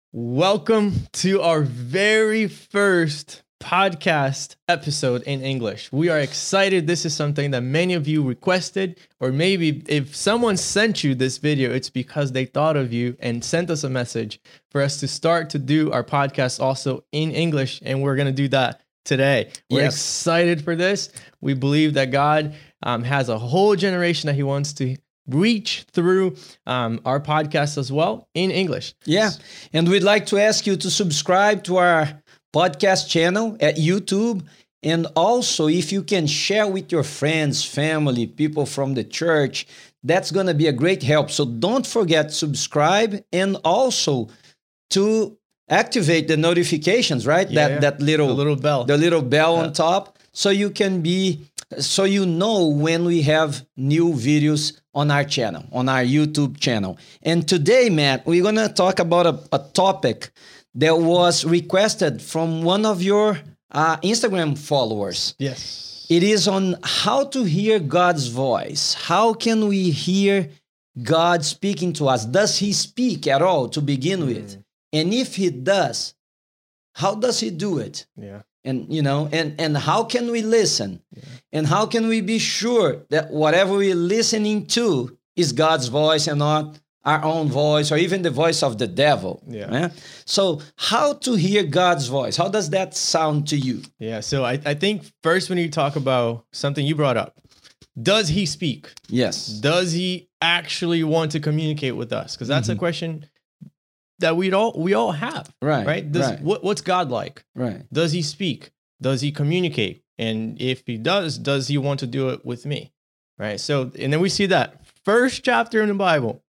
Welcome to our very first podcast episode in English. We are excited. This is something that many of you requested, or maybe if someone sent you this video, it's because they thought of you and sent us a message for us to start to do our podcast also in English, and we're going to do that today. We're excited for this. We believe that God has a whole generation that he wants to reach through our podcast as well in English. Yeah, and we'd like to ask you to subscribe to our podcast channel at YouTube. And also, if you can share with your friends, family, people from the church, that's going to be a great help. So don't forget to subscribe and also to activate the notifications, right? That little bell. The little bell on top, so you know when we have new videos on our channel, on our YouTube channel. And today, Matt, we're going to talk about a topic that was requested from one of your Instagram followers. Yes. It is on how to hear God's voice. How can we hear God speaking to us? Does he speak at all to begin with? And if he does, how does he do it? Yeah. And and how can we listen? Yeah. And how can we be sure that whatever we're listening to is God's voice and not our own voice or even the voice of the devil? Yeah. So how to hear God's voice? How does that sound to you? Yeah. So I think first when you talk about something you brought up, does he speak? Yes. Does he actually want to communicate with us? Because that's a question that we all have, right? What's God like? Right. Does he speak? Does he communicate? And if he does he want to do it with me? Right. So, and then we see that first chapter in the Bible.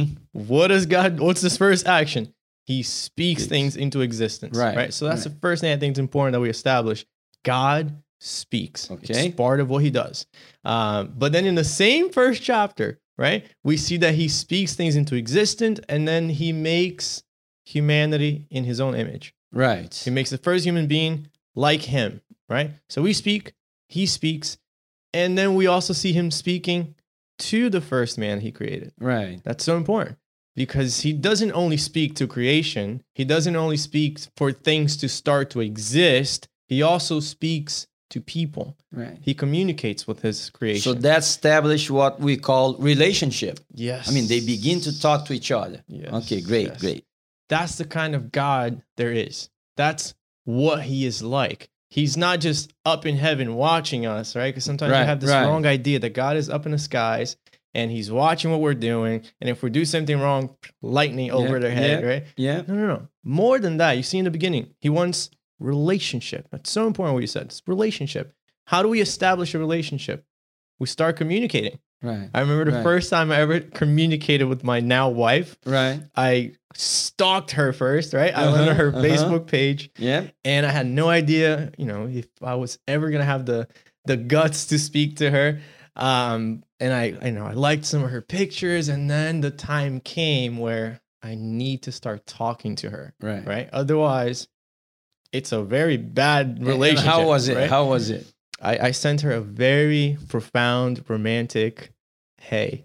What's his first action? He speaks things into existence. Right. So that's the first thing I think is important that we establish. God speaks. Okay. It's part of what he does. But then in the same first chapter, right, we see that he speaks things into existence, and then he makes humanity in his own image. Right. He makes the first human being like him, right? So we speak, he speaks, and then we also see him speaking to the first man he created. Right. That's so important because he doesn't only speak to creation. He doesn't only speak for things to start to exist. He also speaks to people. Right. He communicates with his creation. So that established what we call relationship. Yes. I mean, they begin to talk to each other. Yes. Okay, great, great. That's the kind of God there is. That's what he is like. He's not just up in heaven watching us, right? Because sometimes we have this wrong idea that God is up in the skies and he's watching what we're doing. And if we do something wrong, lightning over their head, right? Yeah. No. More than that, you see in the beginning, he wants relationship. That's so important what you said. It's relationship. How do we establish a relationship? We start communicating. Right. I remember the first time I ever communicated with my now wife. Right. I stalked her first, right? I went on her Facebook page. Yeah. And I had no idea, if I was ever gonna have the guts to speak to her. And I liked some of her pictures, and then the time came where I need to start talking to her. Right. Otherwise, it's a very bad relationship. And how was it? Right? How was it? I sent her a very profound, romantic, hey.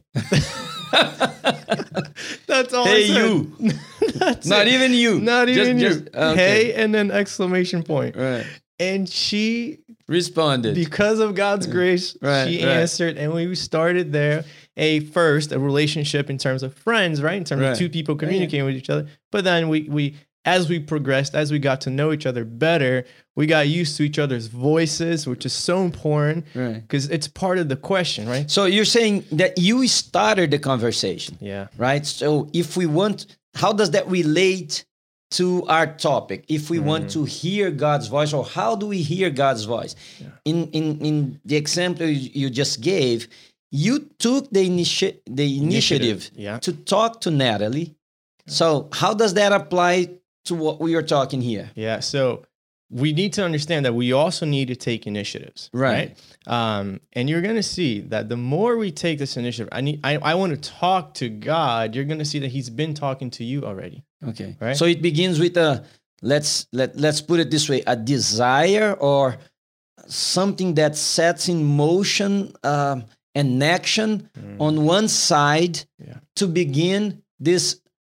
That's all hey, I said. you. That's Not it. even you. Not even you. Okay. Hey, and then exclamation point. Right. And she responded. Because of God's grace, she answered, and we started there. First, a relationship in terms of friends, right? In terms of two people communicating with each other. But then we as we progressed, as we got to know each other better, we got used to each other's voices, which is so important because it's part of the question, right? So you're saying that you started the conversation. Yeah. Right? So if we want, how does that relate to our topic? If we want to hear God's voice, or how do we hear God's voice? Yeah. In the example you just gave, you took the initiative to talk to Natalie. So how does that apply to what we are talking here? Yeah, so we need to understand that we also need to take initiatives, right? And you're going to see that the more we take this initiative, I want to talk to God. You're going to see that He's been talking to you already. Okay, right. So it begins with let's put it this way: a desire or something that sets in motion an action on one side to begin this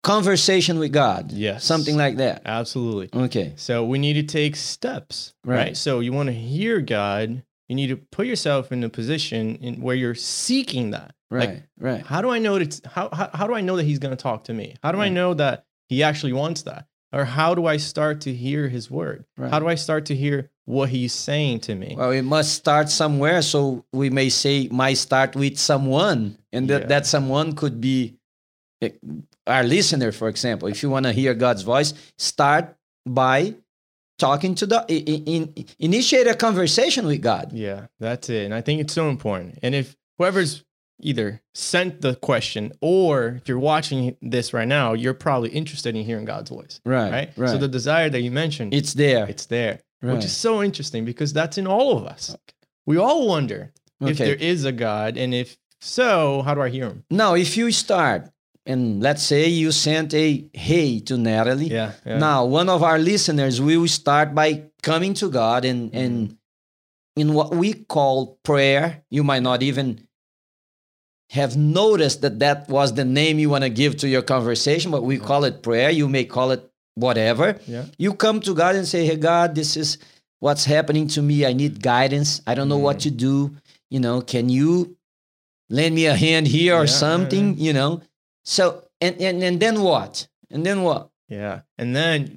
conversation with God. Yes. Something like that. Absolutely. Okay. So we need to take steps, right? So you want to hear God, you need to put yourself in a position where you're seeking that. Right. Like, Right. how do I know that how do I know that he's going to talk to me? How do I know that he actually wants that? Or how do I start to hear his word? Right. How do I start to hear what he's saying to me? Well, it must start somewhere. So we may say, might start with someone, and that someone could be our listener, for example. If you want to hear God's voice, start by talking to initiate a conversation with God. Yeah, that's it. And I think it's so important. And if whoever's either sent the question or if you're watching this right now, you're probably interested in hearing God's voice. Right. So the desire that you mentioned, it's there. Right. Which is so interesting because that's in all of us. Okay. We all wonder if there is a God, and if so, how do I hear him? Now, if you start, and let's say you sent a hey to Natalie. Yeah. Now, one of our listeners will start by coming to God and in what we call prayer. You might not even have noticed that was the name you want to give to your conversation, but we call it prayer. You may call it whatever. Yeah. You come to God and say, hey, God, this is what's happening to me. I need guidance. I don't know what to do. Can you lend me a hand here or something, So, and then what? And then what? Yeah. And then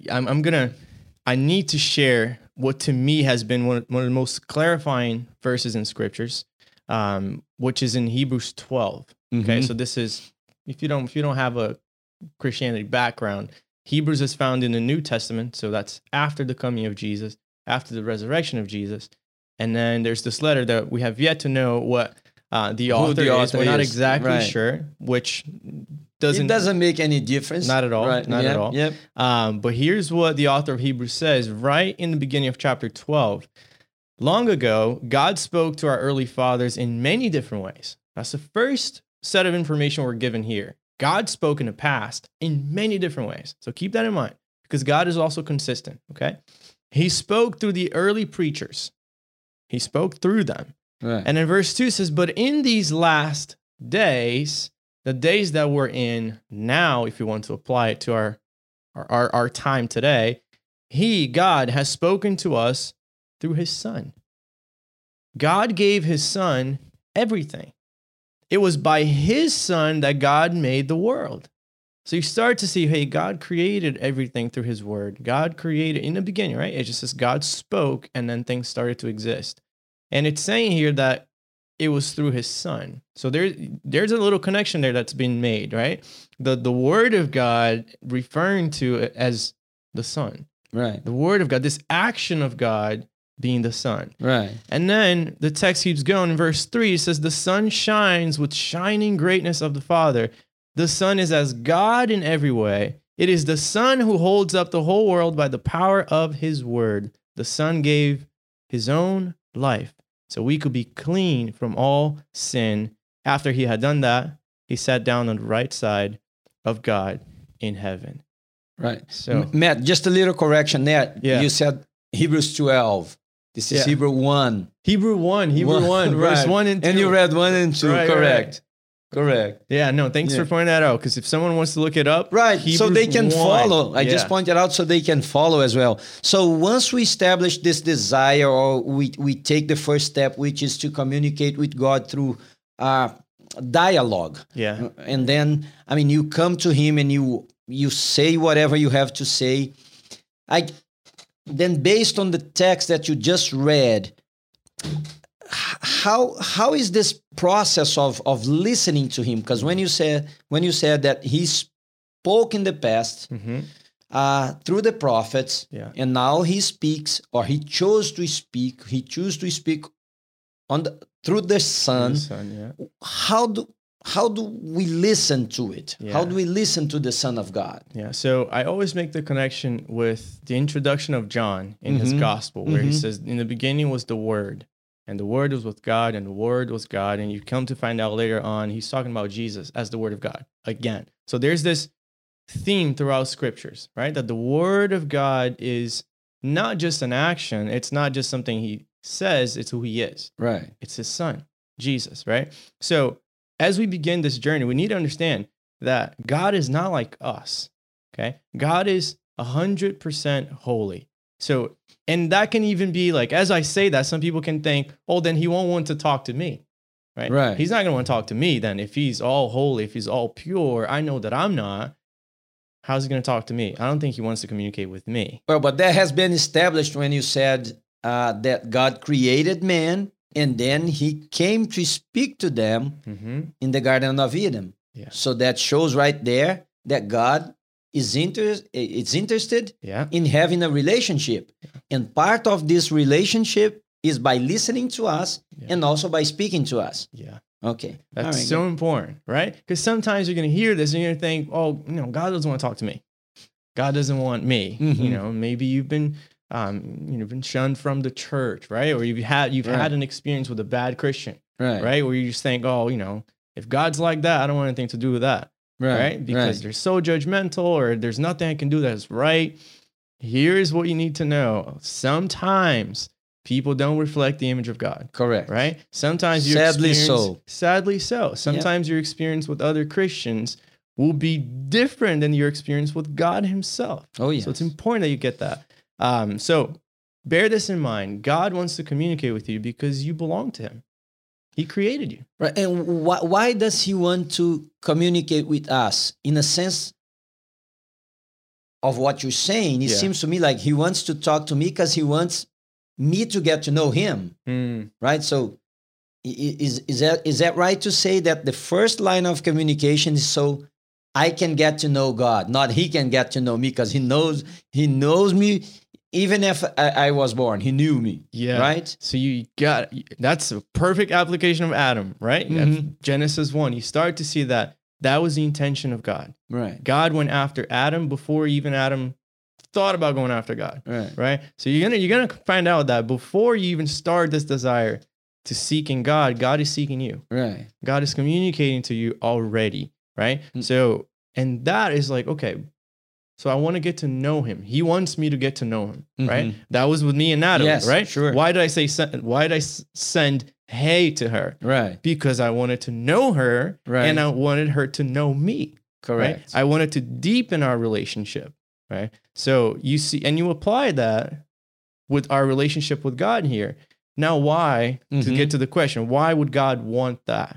I need to share what to me has been one of the most clarifying verses in scriptures, which is in Hebrews 12. Okay. So this is, if you don't have a Christianity background, Hebrews is found in the New Testament. So that's after the coming of Jesus, after the resurrection of Jesus. And then there's this letter that we have yet to know what the author is. We're not exactly sure, which doesn't make any difference. Not at all. Right. Not at all. Yep. But here's what the author of Hebrews says right in the beginning of chapter 12. Long ago, God spoke to our early fathers in many different ways. That's the first set of information we're given here. God spoke in the past in many different ways. So keep that in mind because God is also consistent, okay? He spoke through the early preachers. He spoke through them. Right. And in verse 2 says, but in these last days, the days that we're in now, if you want to apply it to our time today, God has spoken to us through his son. God gave his son everything. It was by his son that God made the world. So you start to see, hey, God created everything through his word. God created in the beginning, right? It just says God spoke and then things started to exist. And it's saying here that it was through his son. So there's a little connection there that's been made, right? The word of God referring to it as the son. Right. The word of God, this action of God being the son. Right. And then the text keeps going in verse 3. It says, the sun shines with shining greatness of the Father. The Son is as God in every way. It is the Son who holds up the whole world by the power of his word. The Son gave his own life so we could be clean from all sin. After he had done that, he sat down on the right side of God in heaven. Right. So, Matt, just a little correction there. Yeah. You said Hebrews 12. This is Hebrew 1. Hebrew 1, verse right. 1 and 2. And you read 1 and 2, Right, correct. Right. Correct. Yeah, no, thanks for pointing that out, because if someone wants to look it up, right, Hebrews so they can 1. follow. I just pointed out so they can follow as well. So once we establish this desire, or we take the first step, which is to communicate with God through dialogue. Yeah. And then, you come to him and you say whatever you have to say. Then based on the text that you just read, how is this process of listening to him? Because when you said that he spoke in the past through the prophets, and now he speaks, or he chose to speak through the Son. How do we listen to it? Yeah. How do we listen to the Son of God? Yeah, so I always make the connection with the introduction of John in his gospel, where he says, in the beginning was the Word, and the Word was with God, and the Word was God. And you come to find out later on, he's talking about Jesus as the Word of God again. So there's this theme throughout scriptures, right? That the Word of God is not just an action. It's not just something he says, it's who he is. Right. It's his Son, Jesus, right? So as we begin this journey, we need to understand that God is not like us. Okay. God is 100% holy. So, and that can even be like, as I say that, some people can think, oh, then he won't want to talk to me. Right. Right. He's not going to want to talk to me then. If he's all holy, if he's all pure, I know that I'm not. How's he going to talk to me? I don't think he wants to communicate with me. Well, but that has been established when you said that God created man and then he came to speak to them in the Garden of Eden. Yeah. So that shows right there that God is interested in having a relationship. Yeah. And part of this relationship is by listening to us and also by speaking to us. Yeah. Okay. That's so important, right? Because sometimes you're going to hear this and you're going to think, oh, God doesn't want to talk to me. God doesn't want me. Maybe you've been been shunned from the church, right? Or you've had an experience with a bad Christian, right? Where you just think, oh, if God's like that, I don't want anything to do with that. Right? Because they're so judgmental, or there's nothing I can do that's right. Here's what you need to know. Sometimes people don't reflect the image of God. Correct. Right? Sometimes sadly so. Sometimes your experience with other Christians will be different than your experience with God himself. Oh, yeah. So it's important that you get that. So bear this in mind. God wants to communicate with you because you belong to him. He created you. Right. And why does he want to communicate with us? In a sense of what you're saying, it seems to me like he wants to talk to me because he wants me to get to know him. Right? So is that right to say that the first line of communication is so I can get to know God, not he can get to know me, because he knows me. Even if I was born, he knew me. Yeah. Right? So that's a perfect application of Adam, right? Genesis 1. You start to see that was the intention of God. Right. God went after Adam before even Adam thought about going after God. Right? So you're gonna find out that before you even start this desire to seeking God, God is seeking you. Right. God is communicating to you already. Right? So, and that is like, okay, so I want to get to know him. He wants me to get to know him, right? That was with me and Adam, right? Sure. Why did I send hey to her? Right. Because I wanted to know her, and I wanted her to know me. Correct. Right? I wanted to deepen our relationship, right? So you see, and you apply that with our relationship with God here. Now, why, to get to the question, why would God want that?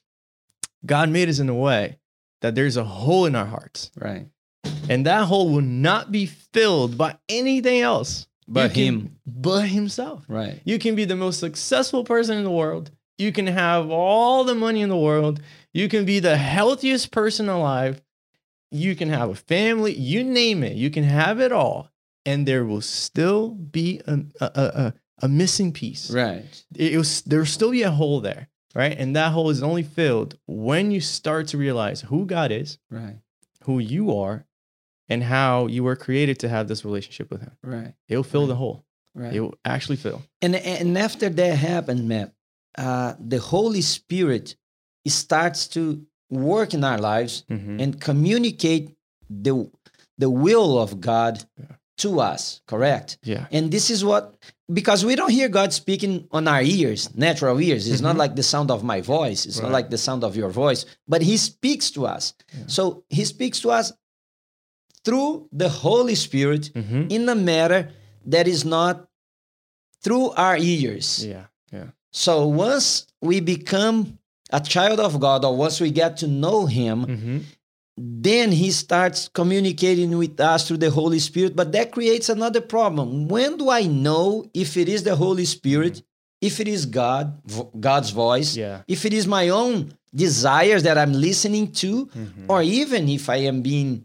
God made us in a way that there's a hole in our hearts. Right. And that hole will not be filled by anything else but himself. Right. You can be the most successful person in the world. You can have all the money in the world. You can be the healthiest person alive. You can have a family. You name it. You can have it all. And there will still be a missing piece. Right. There will still be a hole there. Right. And that hole is only filled when you start to realize who God is. Right. Who you are, and how you were created to have this relationship with him. Right. It'll fill the hole. Right. It will actually fill. And after that happened, Matt, the Holy Spirit starts to work in our lives and communicate the will of God to us, correct? Yeah. And this is because we don't hear God speaking on our ears, natural ears. It's not like the sound of my voice. It's not like the sound of your voice, but he speaks to us. Yeah. So he speaks to us through the Holy Spirit in a matter that is not through our ears. Yeah. Yeah. So once we become a child of God, or once we get to know him, then he starts communicating with us through the Holy Spirit. But that creates another problem. When do I know if it is the Holy Spirit, if it is God's voice, if it is my own desires that I'm listening to, or even if I am being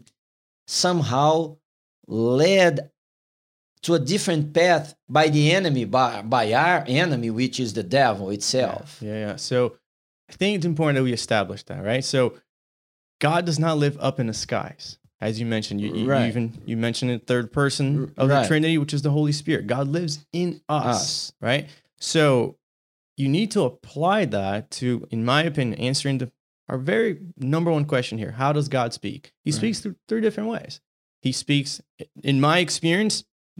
somehow led to a different path by the enemy, by our enemy, which is the devil itself? Yeah. So I think it's important that we establish that, right? So God does not live up in the skies. As you mentioned, you mentioned in third person of the Trinity, which is the Holy Spirit. God lives in us, right? So you need to apply that to, in my opinion, answering our very number one question here. How does God speak? He speaks through 3 different ways. He speaks, in my experience,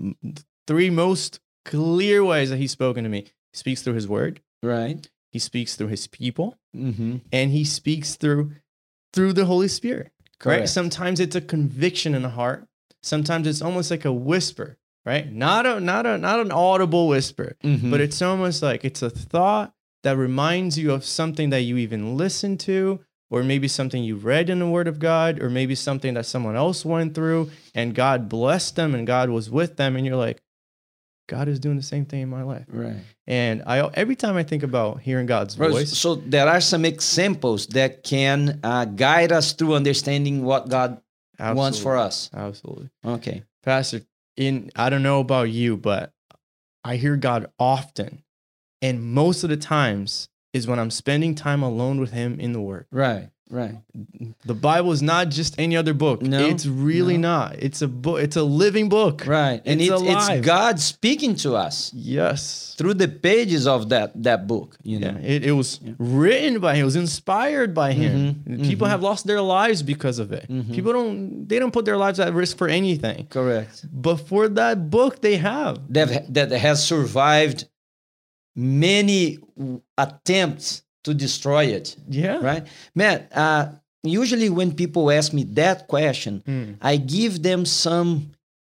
3 most clear ways that he's spoken to me. He speaks through his word. Right. He speaks through his people. And he speaks through through the Holy Spirit, right? Correct. Sometimes it's a conviction in the heart. Sometimes it's almost like a whisper, right? Not an audible whisper, Mhm. but it's almost like it's a thought that reminds you of something that you even listened to, or maybe something you read in the Word of God, or maybe something that someone else went through and God blessed them and God was with them. And you're like, God is doing the same thing in my life. Right. And every time I think about hearing God's Bro, voice, so there are some examples that can guide us through understanding what God wants for us. Absolutely. Okay. Pastor, I don't know about you, but I hear God often. And most of the times is when I'm spending time alone with him in the Word. Right. Right. The Bible is not just any other book. No, It's really not. It's a book. It's a living book. Right. And It's it's alive. God speaking to us Yes. through the pages of that book. You know. Yeah, it was written by him. It was inspired by him. Mhm, People mhm. have lost their lives because of it. Mhm. People don't put their lives at risk for anything. Correct. But for that book, they have. That has survived many attempts to destroy it. Yeah. Right, man. Usually when people ask me that question, I give them some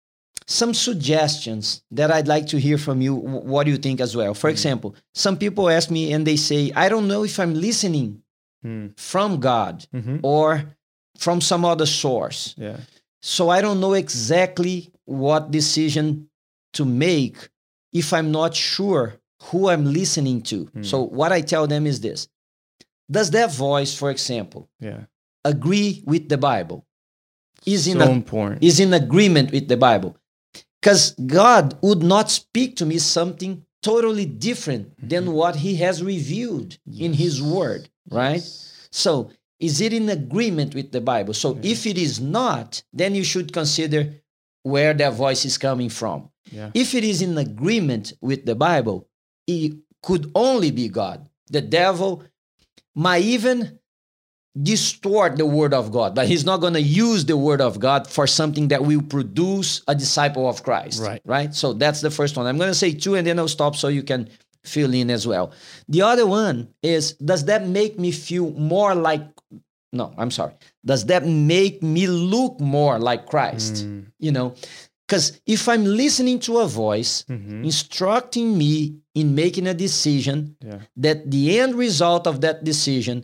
suggestions that I'd like to hear from you. What do you think as well? For example, some people ask me and they say, I don't know if I'm listening from God Mhm. or from some other source. Yeah. So I don't know exactly what decision to make if I'm not sure who I'm listening to. So what I tell them is this. Does that voice, for example, Yeah. agree with the Bible? Is in agreement with the Bible? Because God would not speak to me something totally different than what he has revealed in his word, right? So is it in agreement with the Bible? So if it is not, then you should consider where that voice is coming from. Yeah. If it is in agreement with the Bible, it could only be God. The devil might even distort the word of God, but he's not going to use the word of God for something that will produce a disciple of Christ. Right? So that's the first one. I'm going to say two and then I'll stop so you can fill in as well. The other one is, does that make me feel more like, no, I'm sorry. Does that make me look more like Christ? You know, because if I'm listening to a voice instructing me in making a decision, that the end result of that decision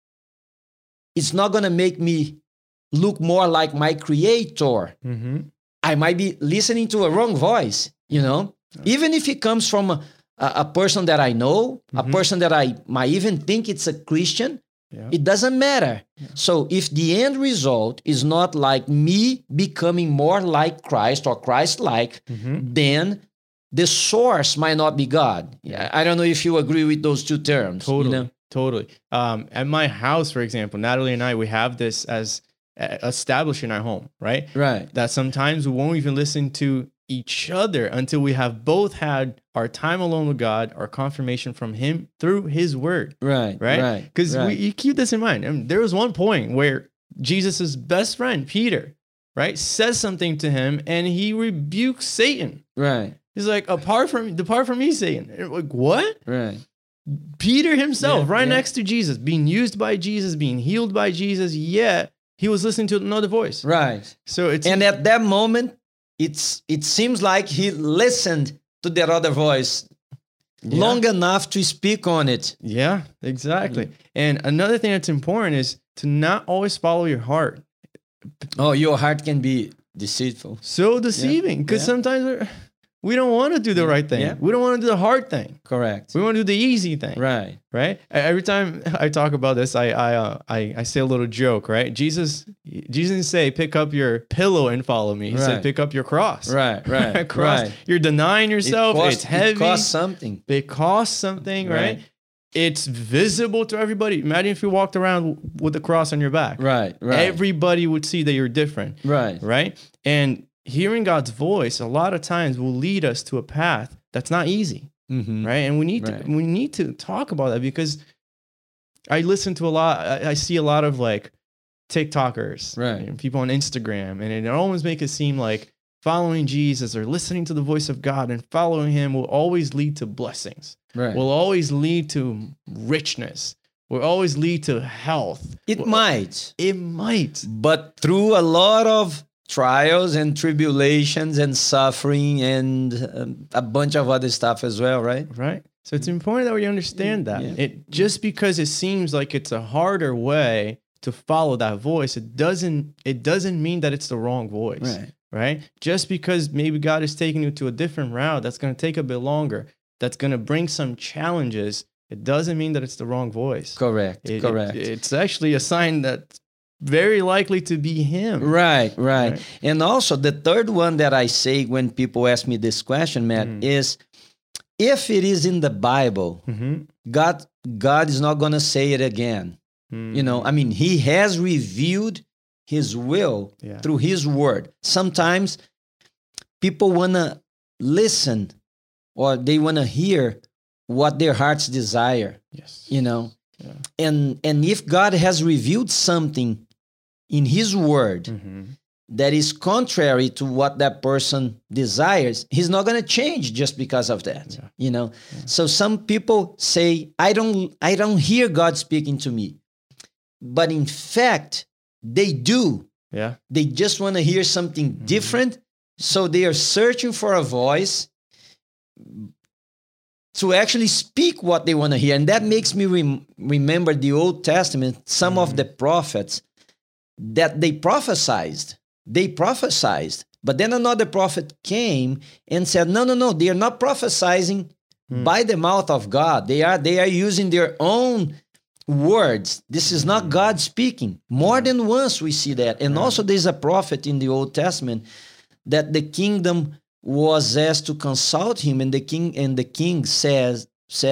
is not going to make me look more like my creator, I might be listening to a wrong voice, you know, even if it comes from a person that I know, a person that I might even think it's a Christian. It doesn't matter. So if the end result is not like me becoming more like Christ or Christ-like, then the source might not be God. I don't know if you agree with those two terms. Totally. You know? Totally. At my house, for example, Natalie and I, we have this as established in our home, right? Right. That sometimes we won't even listen to each other until we have both had our time alone with God, our confirmation from him through his word. Right. Right. Because you keep this in mind. I mean, there was one point where Jesus's best friend, Peter, right, says something to him and he rebukes Satan. Right. He's like, depart from me, Satan. And like, what? Right. Peter himself, next to Jesus, being used by Jesus, being healed by Jesus, yet he was listening to another voice. Right. So and at that moment, it seems like he listened to that other voice long enough to speak on it. Yeah, exactly. And another thing that's important is to not always follow your heart. Oh, your heart can be deceitful. So deceiving, because sometimes we don't want to do the right thing. Yeah. We don't want to do the hard thing. Correct. We want to do the easy thing. Right. Right. Every time I talk about this, I say a little joke. Right. Jesus didn't say pick up your pillow and follow me. He said pick up your cross. Right. Right. Cross. Right. You're denying yourself. It's heavy. It costs something. It costs something. Right. It's visible to everybody. Imagine if you walked around with the cross on your back. Right. Right. Everybody would see that you're different. Right. Right. And hearing God's voice a lot of times will lead us to a path that's not easy, right? And we need to talk about that, because I listen to a lot. I see a lot of like TikTokers, right? People on Instagram, and it always makes it seem like following Jesus or listening to the voice of God and following him will always lead to blessings, right? Will always lead to richness. will always lead to health. It might. It might. But through a lot of trials and tribulations and suffering and a bunch of other stuff as well, right? Right. So it's important that we understand that. Yeah. It just because it seems like it's a harder way to follow that voice, it doesn't mean that it's the wrong voice. Right. Right? Just because maybe God is taking you to a different route that's going to take a bit longer, that's going to bring some challenges, it doesn't mean that it's the wrong voice. Correct. Correct. It's actually a sign that's very likely to be him. Right. And also the third one that I say when people ask me this question, Matt, is if it is in the Bible, God is not going to say it again. You know, I mean, he has revealed his will through his word. Sometimes people want to listen or they want to hear what their hearts desire. Yes. You know, and if God has revealed something in his word that is contrary to what that person desires, he's not going to change just because of that. You know, so some people say, I don't hear God speaking to me. But in fact, they do. Yeah. They just want to hear something different. So they are searching for a voice to actually speak what they want to hear. And that makes me remember the Old Testament, some of the prophets that they prophesied. But then another prophet came and said, no, they are not prophesying by the mouth of God. They are using their own words. This is not God speaking. More than once we see that. And also there's a prophet in the Old Testament that the kingdom was asked to consult him, and the king said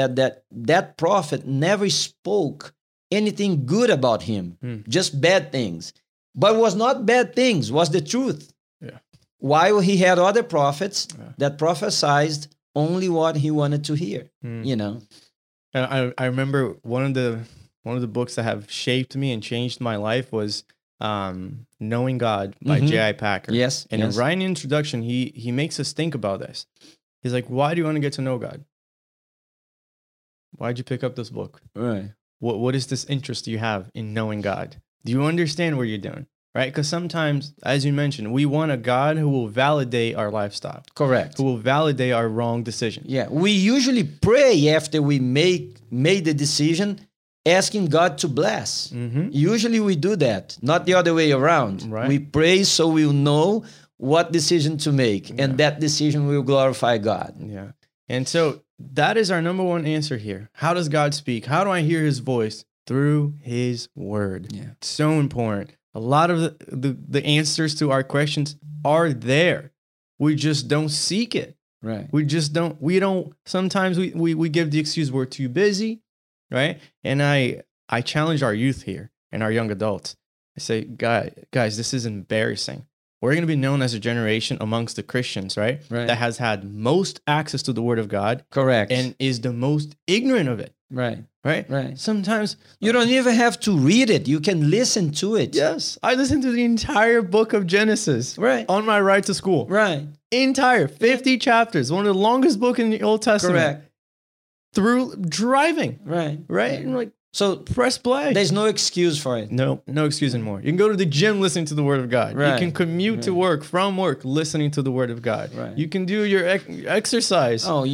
that prophet never spoke anything good about him, just bad things. But it was not bad things, was the truth. Yeah. While he had other prophets that prophesied only what he wanted to hear, you know. And I remember one of the books that have shaped me and changed my life was Knowing God by J.I. Packer. Yes. And right in the introduction, he makes us think about this. He's like, why do you want to get to know God? Why'd you pick up this book? Right. What is this interest you have in knowing God? Do you understand what you're doing? Right? Because sometimes, as you mentioned, we want a God who will validate our lifestyle. Correct. Who will validate our wrong decision. Yeah. We usually pray after we made the decision, asking God to bless. Usually we do that, not the other way around. Right. We pray so we'll know what decision to make, and that decision will glorify God. Yeah. And so that is our number one answer here. How does God speak? How do I hear his voice? Through his word. Yeah. It's so important. A lot of the answers to our questions are there. We just don't seek it. Right. We don't, sometimes we give the excuse we're too busy, right? And I challenge our youth here and our young adults. I say, guys, this is embarrassing. We're going to be known as a generation amongst the Christians, right? That has had most access to the word of God. Correct. And is the most ignorant of it. Right. Right? Sometimes you don't even have to read it. You can listen to it. Yes. I listened to the entire book of Genesis on my ride to school. Right. Entire 50 chapters. One of the longest books in the Old Testament. Correct. Through driving. Right. And like, so press play. There's no excuse for it. No excuse anymore. You can go to the gym listening to the word of God. Right. You can commute to work, from work, listening to the word of God. Right. You can do your exercise. Oh,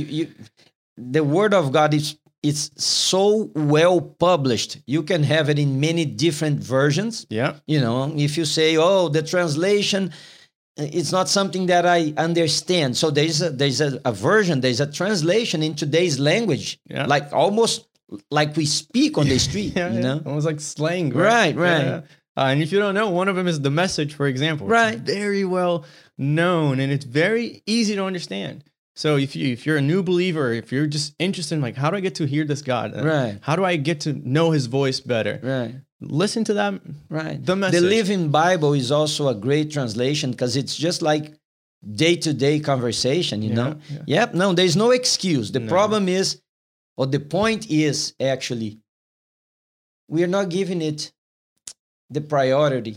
the word of God it's so well published. You can have it in many different versions. Yeah. You know, if you say, oh, the translation, it's not something that I understand. So there's a version, there's a translation in today's language. Yeah. Like almost like we speak on the street, you know? Almost like slang. Right. Yeah. And if you don't know, one of them is The Message, for example. Right. It's very well known and it's very easy to understand. So if you're a new believer, if you're just interested in like, how do I get to hear this God? Right. How do I get to know his voice better? Right. Listen to that. Right. The Message. The Living Bible is also a great translation because it's just like day-to-day conversation, you know? Yeah. Yep. No, there's no excuse. The problem is, or the point is actually, we are not giving it the priority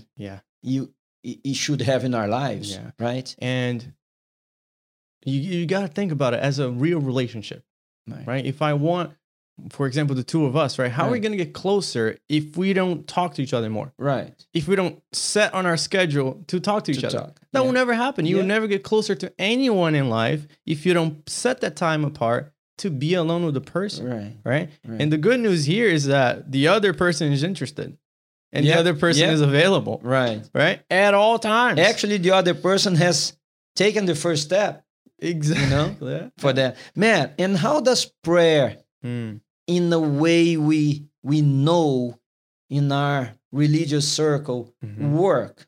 it should have in our lives. Yeah. Right. And you got to think about it as a real relationship, right? If I want for example, the two of us, right? How are we Right. going to get closer if we don't talk to each other more? Right. If we don't set on our schedule to talk to each other? talk. That will Yeah. never happen. You will Yeah. never get closer to anyone in life if you don't set that time apart to be alone with the person, Right. right? Right. And the good news here is that the other person is interested and Yeah. the other person Yeah. is available, Right. right? At all times. Actually, the other person has taken the first step exactly. Yeah. for that. Man, and how does prayer, Mm. in the way we know in our religious circle, Mhm. work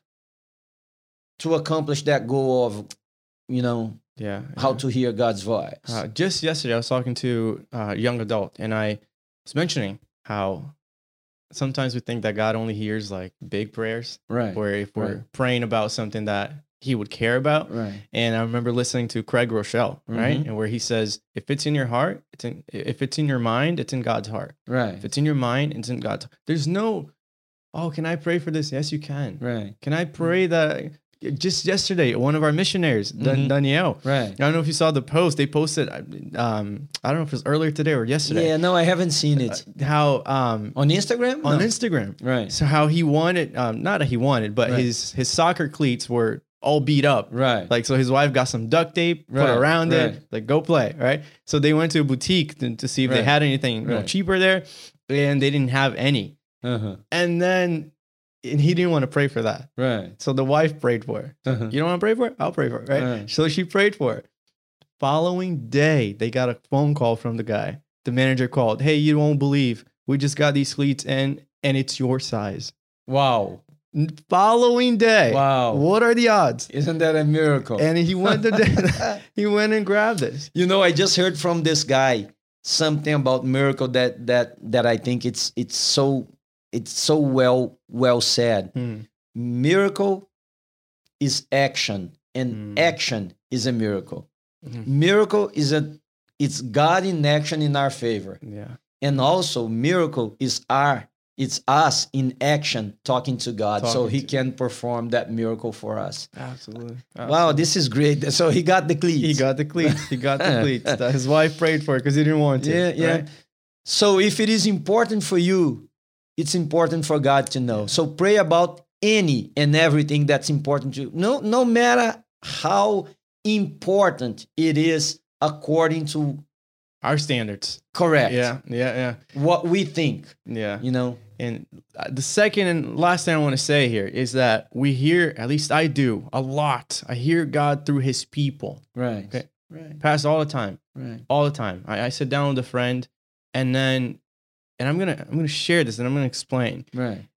to accomplish that goal of, Yeah. how to hear God's voice? Just yesterday, I was talking to a young adult, and I was mentioning how sometimes we think that God only hears like big prayers, Right. where if we're Right. praying about something that He would care about. Right. And I remember listening to Craig Rochelle, right, Mhm. and where he says, "If it's in your heart, if it's in your mind, it's in God's heart. Right. If it's in your mind, it's in God's." There's no, oh, can I pray for this? Yes, you can. Right. Can I pray that? Just yesterday, one of our missionaries, Mhm. Danielle. Right. I don't know if you saw the post they posted. I don't know if it was earlier today or yesterday. Yeah, no, I haven't seen it. How On Instagram? on No. Instagram. Right. So how he wanted, not that he wanted, but Right. his soccer cleats were all beat up. Right. Like, so his wife got some duct tape, put Right, around right. it, like, go play, right? So they went to a boutique to see if they Right, had anything right. cheaper there, and they didn't have any. Uh-huh. And he didn't want to pray for that. Right. So the wife prayed for it. Uh-huh. You don't want to pray for it? I'll pray for it, right? Right. So she prayed for it. Following day, they got a phone call from the guy. The manager called, "Hey, you won't believe. We just got these cleats and it's your size." Wow. Following day. Wow. What are the odds? Isn't that a miracle? And he went he went and grabbed this. I just heard from this guy something about miracle that I think it's so well said. Miracle is action, and action is a miracle. Mhm. Miracle it's God in action in our favor. Yeah. And also miracle is it's us in action talking to God so Talking he to- can perform that miracle for us. Absolutely. Wow, this is great. So he got the cleats. He got the cleats. He got the cleats. That his wife prayed for it because he didn't want to. Yeah, yeah. right? So if it is important for you, it's important for God to know. So pray about any and everything that's important to you. No matter how important it is according to Our standards. correct Yeah. what we think, Yeah. And the second and last thing I want to say here is that we hear, at least I do, a lot. I hear God through his people. Right. Okay. Right. Past all the time. Right. All the time. I sit down with a friend and I'm gonna share this and I'm gonna explain. Right.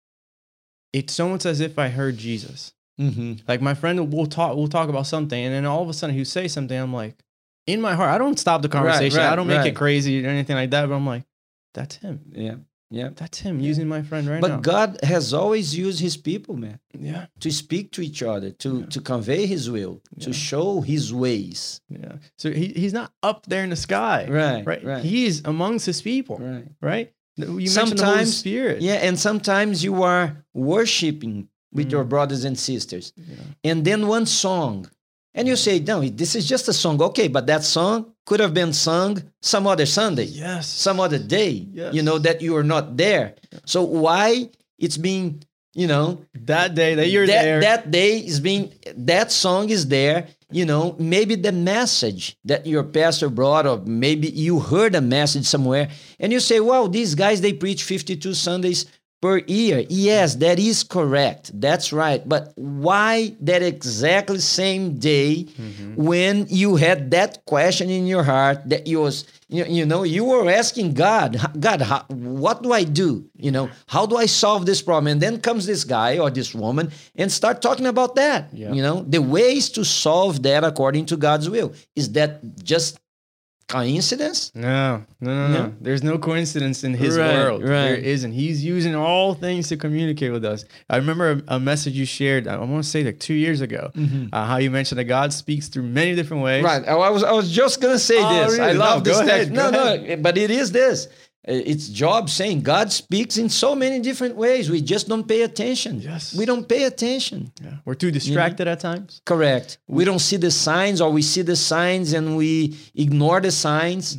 It's almost as if I heard Jesus. Mm-hmm. Like my friend will talk about something, and then all of a sudden he'll say something. I'm like, in my heart, I don't stop the conversation. right, I don't make right. it crazy or anything like that. But I'm like, that's him. Yeah. Yeah. That's him using my friend right now. But God has always used his people, man, Yeah. to speak to each other, to convey his will, to Yeah. show his ways. Yeah. So he's not up there in the sky. Right. Right. Right. He's amongst his people. Right. Right. You mentioned the Holy Sometimes- Spirit. Yeah, and sometimes you are worshiping with your brothers and sisters. Yeah. And then one song. And you say, no, this is just a song. Okay, but that song could have been sung some other Sunday, Yes. some other day, Yes. that you are not there. So why it's being, That day that you're there. that day is being, that song is there, maybe the message that your pastor brought, or maybe you heard a message somewhere and you say, well, these guys, they preach 52 Sundays per year. Yes, that is correct. That's right. But why that exactly same day when you had that question in your heart that you was, you were asking God, what do I do? How do I solve this problem? And then comes this guy or this woman and start talking about that. Yeah. The ways to solve that according to God's will. Is that just coincidence? No. No? There's no coincidence in his Right, world. right. There isn't. He's using all things to communicate with us. I remember a message you shared, I want to say like 2 years ago, how you mentioned that God speaks through many different ways. Right. I was just gonna say Oh, this. really? I love No, this go text. ahead, go No, but it is this. It's Job saying God speaks in so many different ways. We just don't pay attention. Yes. We don't pay attention. Yeah. We're too distracted at times. Correct. We don't see the signs, or we see the signs and we ignore the signs.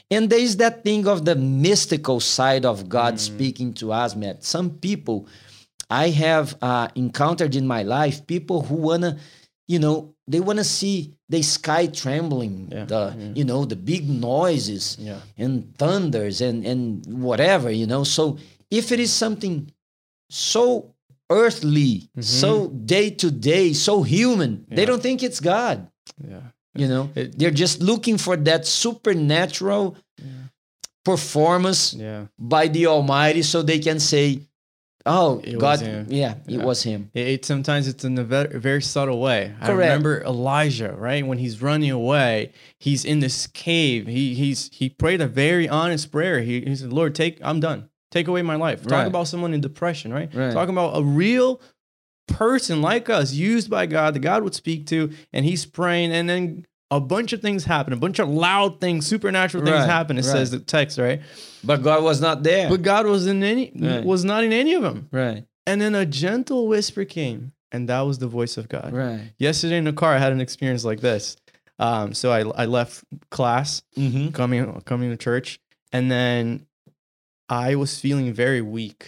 And there is that thing of the mystical side of God speaking to us, Matt. Some people I have encountered in my life, people who wanna, they wanna see the sky trembling, the big noises and thunders and whatever, So if it is something so earthly, so day to day, so human, they don't think it's God. Yeah. They're just looking for that supernatural performance by the Almighty, so they can say, "Oh, It God, was him." it was Him." Sometimes it's in a very subtle way. I Correct. remember Elijah, right? When he's running away, he's in this cave. He prayed a very honest prayer. He said, "Lord, I'm done. Take away my life." Talk about someone in depression, right? Talking about a real person like us, used by God, that God would speak to, and he's praying, and then a bunch of things happen, a bunch of loud things, supernatural things happen. It says the text, right? But God was not there. But God was not in any of them. Right. And then a gentle whisper came, and that was the voice of God. Right. Yesterday in the car, I had an experience like this. So I left class, coming to church, and then I was feeling very weak,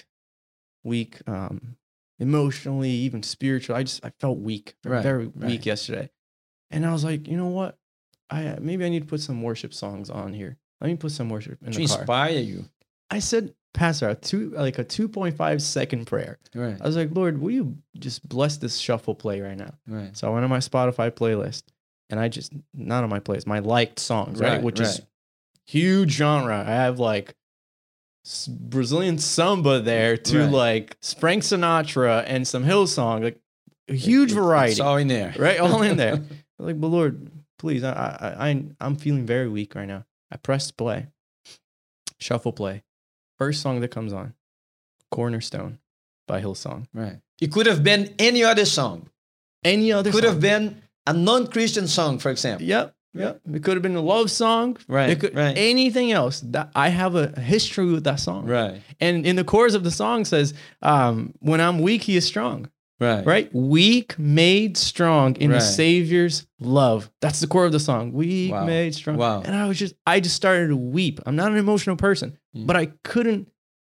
emotionally, even spiritually. I felt weak, very weak yesterday. And I was like, you know what? Maybe I need to put some worship songs on here. Let me put some worship in the car. To inspire you. I said, Pastor, a 2.5 second prayer. Right. I was like, Lord, will you just bless this shuffle play right now? Right. So I went on my Spotify playlist, and not on my playlist, my liked songs, right? Which is huge genre. I have like Brazilian samba there to like Frank Sinatra and some Hillsong, like a huge variety. It's all in there. Right? All in there. Like, but Lord, please, I'm feeling very weak right now. I pressed play, shuffle play. First song that comes on, Cornerstone by Hillsong. Right. It could have been any other song. Could have been a non-Christian song, for example. Yep. It could have been a love song. Right. Anything else. That I have a history with that song. Right. And in the chorus of the song says, when I'm weak, he is strong. Right. Weak made strong in the Savior's love. That's the core of the song. Weak made strong. Wow. And I just started to weep. I'm not an emotional person, but I couldn't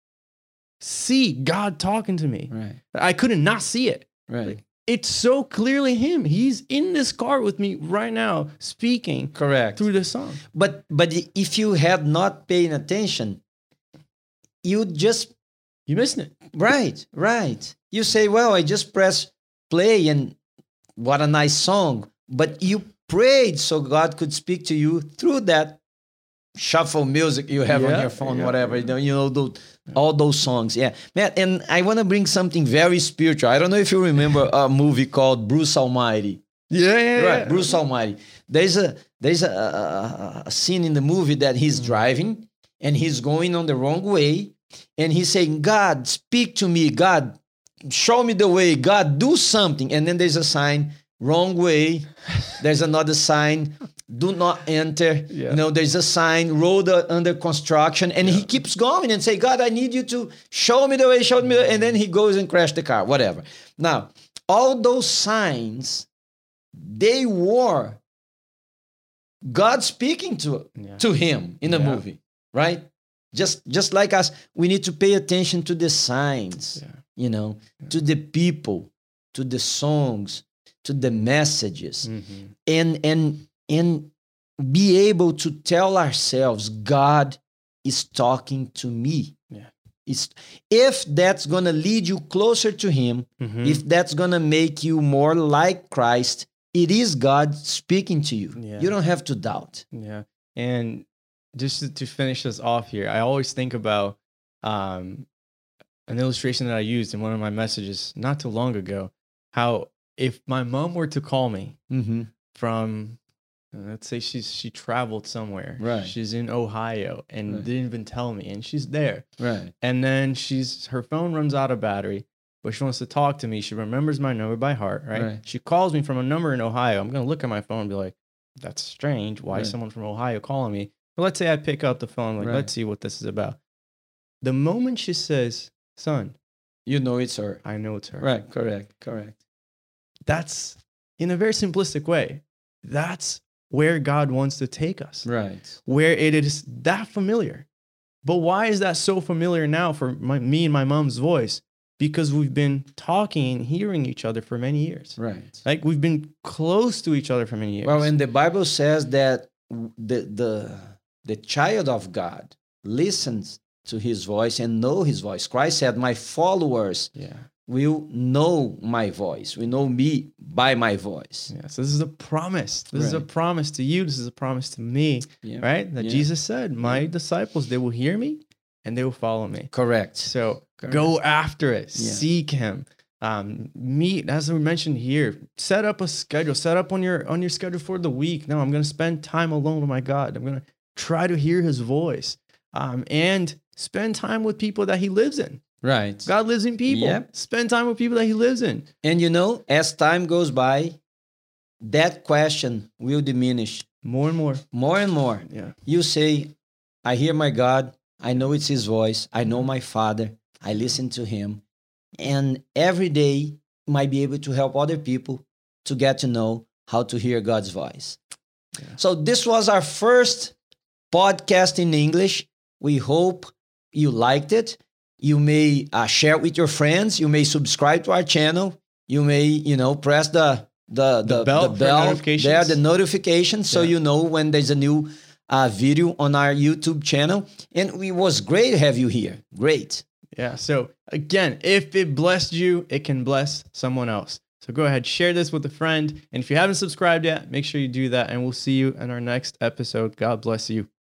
see God talking to me. Right. I couldn't not see it. Right. It's so clearly him. He's in this car with me right now, speaking through the song. But if you had not paid attention, you missed it. Right. You say, well, I just press play and what a nice song. But you prayed so God could speak to you through that shuffle music you have on your phone, whatever. All those songs. Yeah. Matt, and I want to bring something very spiritual. I don't know if you remember a movie called Bruce Almighty. Yeah. Bruce Almighty. There's a scene in the movie that he's driving and he's going on the wrong way. And he's saying, God, speak to me. God, show me the way. God, do something. And then there's a sign, wrong way. There's another sign, do not enter. Yeah. There's a sign, road under construction. And he keeps going and say, God, I need you to show me the way, show me the way. And then he goes and crashes the car, whatever. Now, all those signs, they were God speaking to him in the movie, right? Just like us, we need to pay attention to the signs, to the people, to the songs, to the messages, and be able to tell ourselves, God is talking to me. Yeah. If that's going to lead you closer to Him, if that's going to make you more like Christ, it is God speaking to you. Yeah. You don't have to doubt. Yeah. And just to finish this off here, I always think about an illustration that I used in one of my messages not too long ago, how if my mom were to call me from, let's say she traveled somewhere, she's in Ohio and didn't even tell me, and she's there, and then her phone runs out of battery, but she wants to talk to me. She remembers my number by heart, right? She calls me from a number in Ohio. I'm going to look at my phone and be like, that's strange. Why is someone from Ohio calling me? But let's say I pick up the phone, let's see what this is about. The moment she says, son, you know it's her. I know it's her. Right, correct. That's, in a very simplistic way, that's where God wants to take us, Right. where it is that familiar. But why is that so familiar now for me and my mom's voice? Because we've been talking and hearing each other for many years. Right. Like we've been close to each other for many years. Well, and the Bible says that the child of God listens to his voice and know his voice. Christ said, my followers yeah. will know my voice, will know me by my voice. Yeah. So this is a promise. This is a Right. promise to you. This is a promise to me, Yeah. right? That Yeah. Jesus said, my disciples, they will hear me and they will follow me. Correct. So Correct. go after it. Yeah. Seek him. Meet, as we mentioned here, set up a schedule, set up on your schedule for the week. No, I'm going to spend time alone with my God. I'm going to try to hear his voice, and spend time with people that he lives in. Right. God lives in people. Yep. Spend time with people that he lives in. And you know, as time goes by, that question will diminish More and more. more and more. Yeah. You say, I hear my God. I know it's his voice. I know my Father. I listen to him. And every day might be able to help other people to get to know how to hear God's voice. Yeah. So this was our first podcast in English. We hope you liked it. You may share it with your friends. You may subscribe to our channel. You may, press the bell for notifications. there, the notification, so Yeah. you know when there's a new video on our YouTube channel. And it was great to have you here. Great. Yeah. So again, if it blessed you, it can bless someone else. So go ahead, share this with a friend. And if you haven't subscribed yet, make sure you do that. And we'll see you in our next episode. God bless you.